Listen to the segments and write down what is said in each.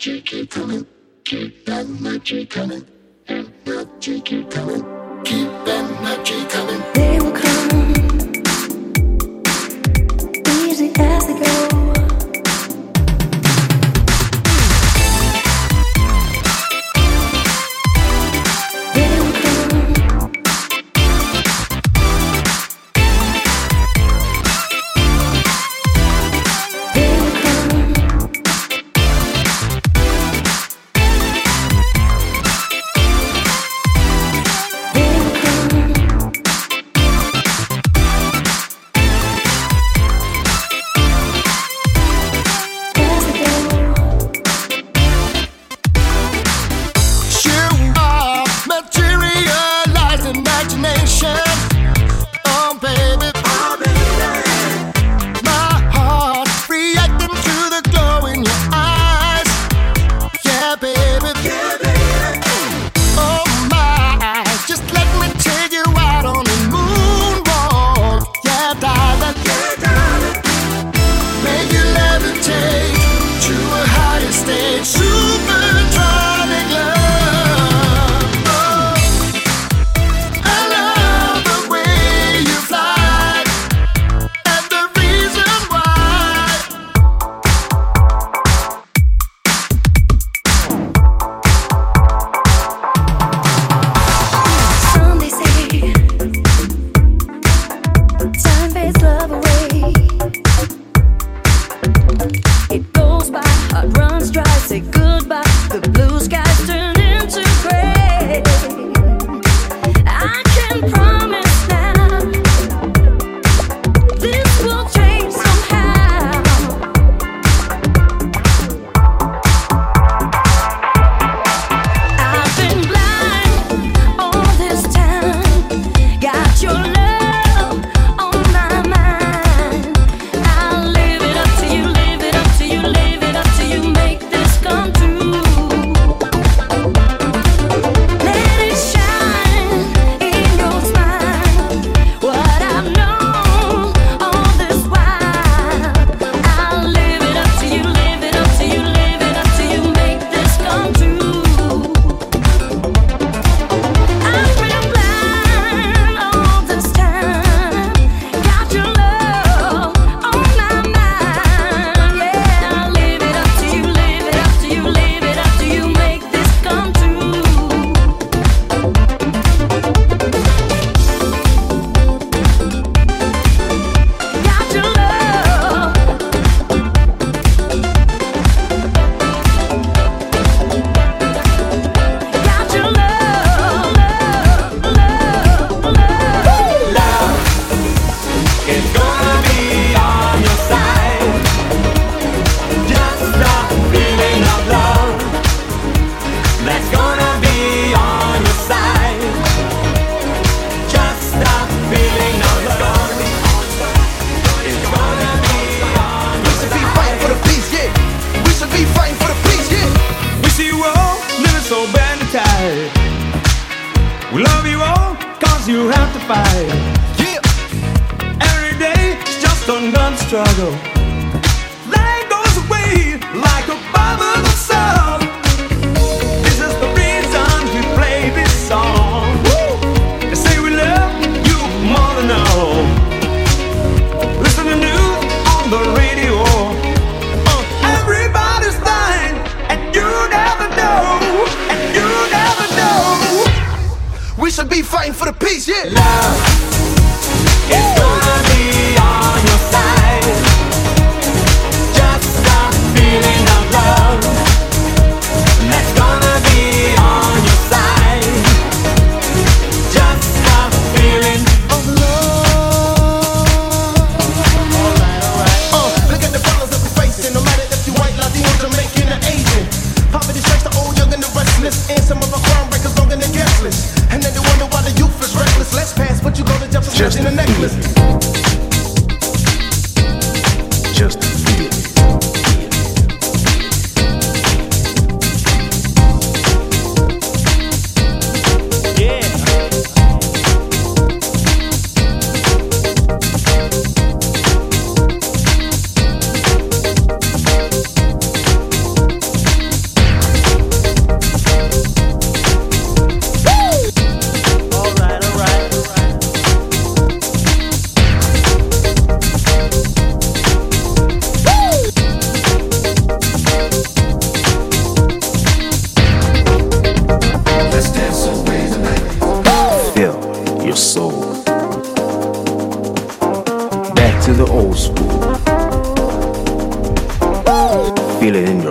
magic keep coming. Keep that magic coming. And magic keep coming. Keep that magic coming. They will come, easy as they go.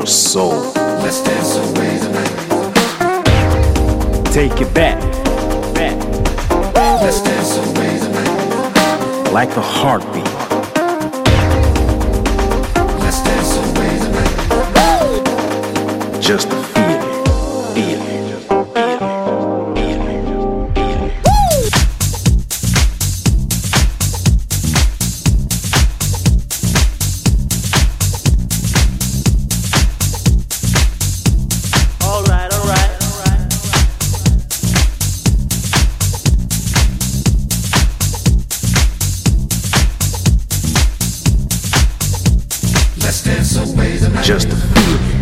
your soul. Let's dance away the night. Take it back. Let's dance away the night. Like a heartbeat. Let's dance away the night. Just to feel it. Feel it. Just to feel it.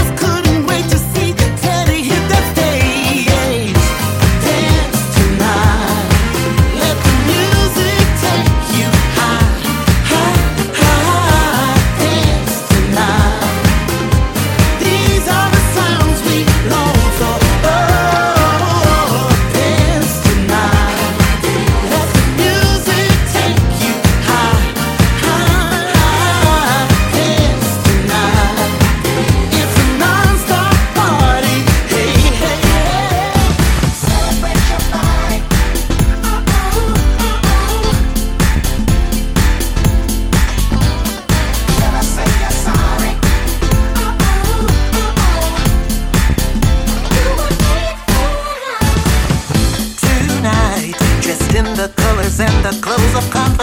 Tonight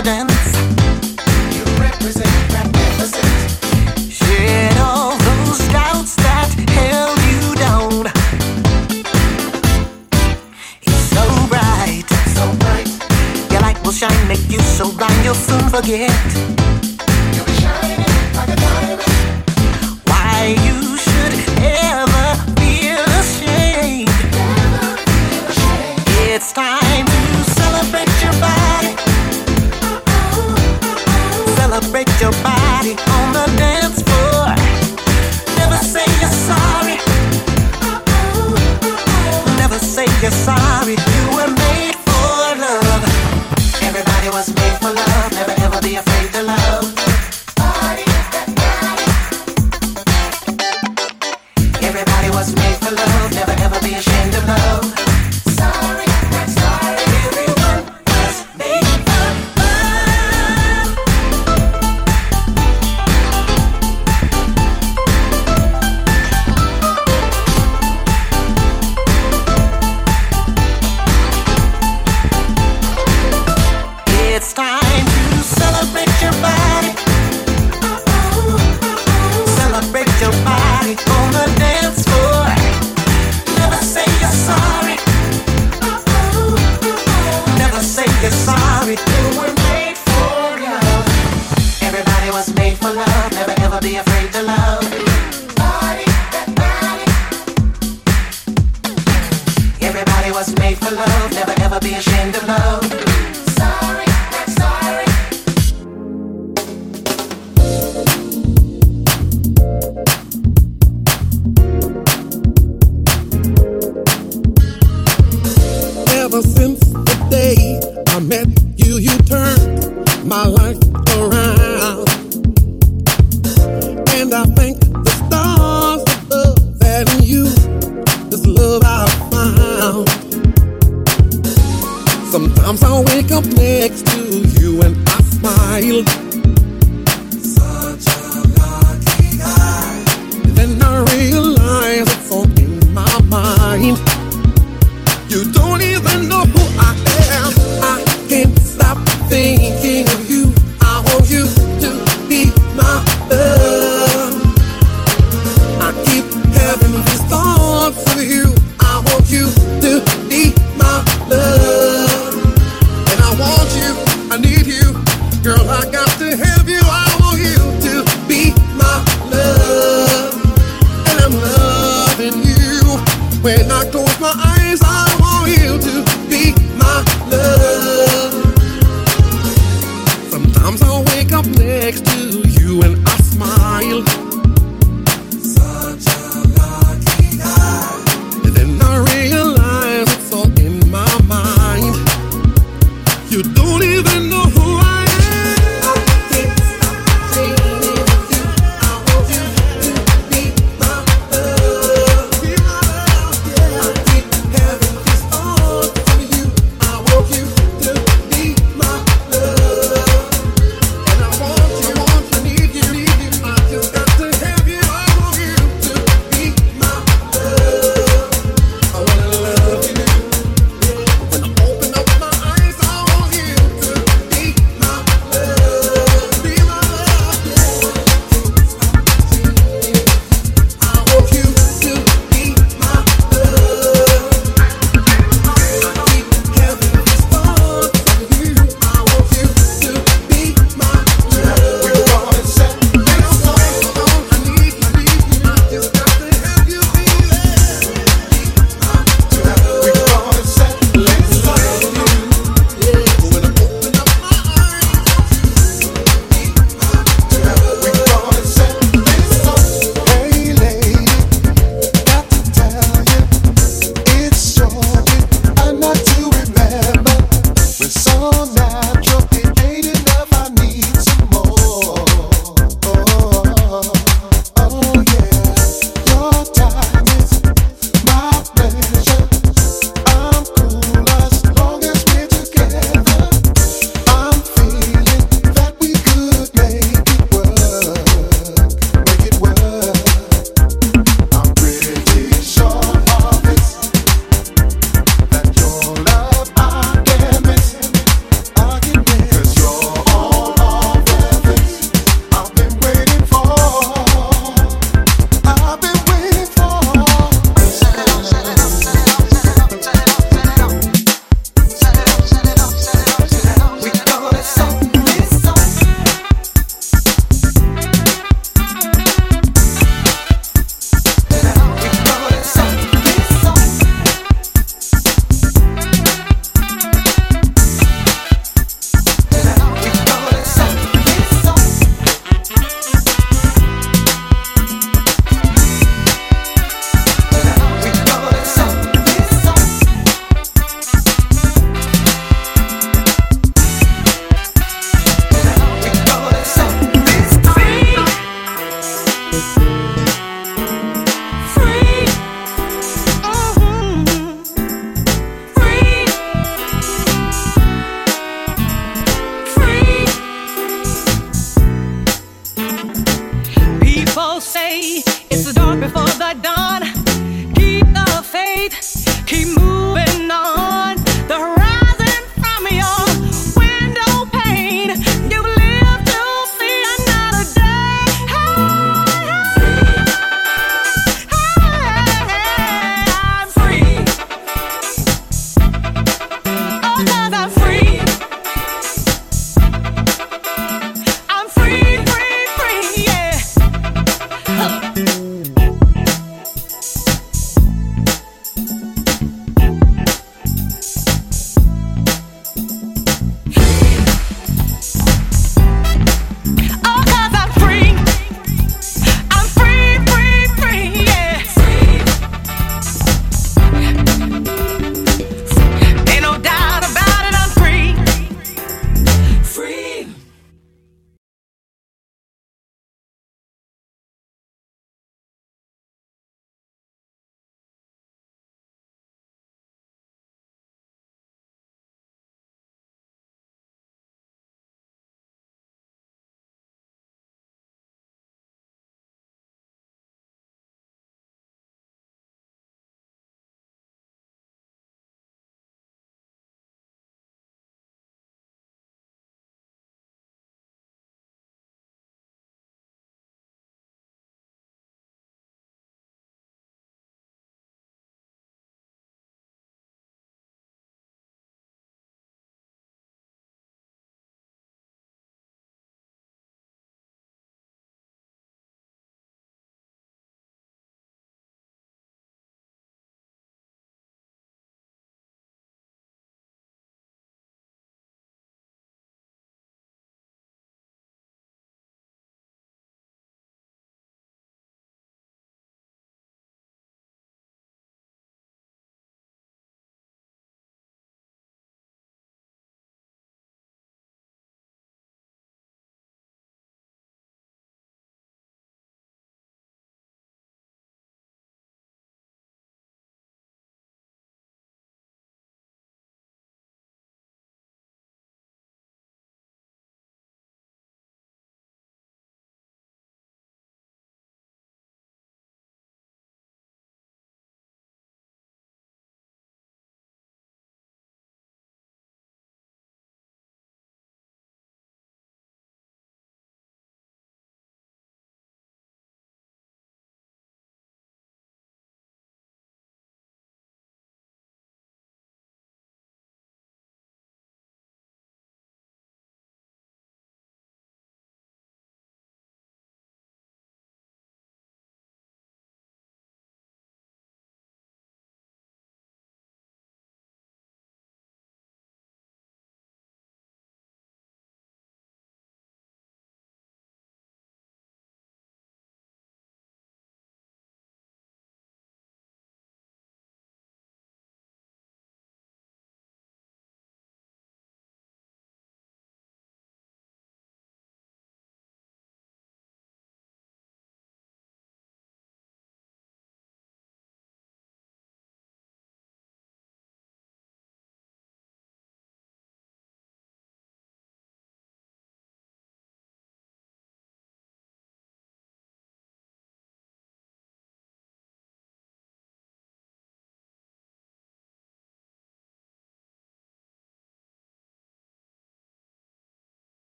confidence. You represent magnificence. Shed all those doubts that held you down. It's so bright, so bright. Your light will shine, make you so blind you'll soon forget. You'll be shining like a diamond. Why you should ever feel ashamed. It's time to celebrate your body. Celebrate your body on the dance floor. Never say you're sorry. Never say you're sorry. You were made for love. Everybody was made for love. Never ever be afraid to love. Body, that body. Everybody was made for love. Never ever be ashamed of love. Sorry, not sorry. Everyone was made for love. It's time to celebrate your body. Celebrate your body on the dance floor. Never say you're sorry. Never say you're sorry. You were made for love. Everybody was made for love. Never ever be afraid to love. Body, that body. Everybody was made for love. Never ever be ashamed of love. Sorry, not sorry. Ever since the day I met you, you turned my life around. And I thank the stars above that in you, this love I found. Sometimes I wake up next to you and I smile. Such a lucky guy. Then I realize it's all in my mind. You don't even know who I am. I can't stop thinking of you. I want you to be my love. I keep having these thoughts of you. I want you to be my love. And I want you, I need you. Girl, I got to have you. I want you to be my love. And I'm loving you. When I close my eyes, I want you to be my love. Sometimes I wake up next to you and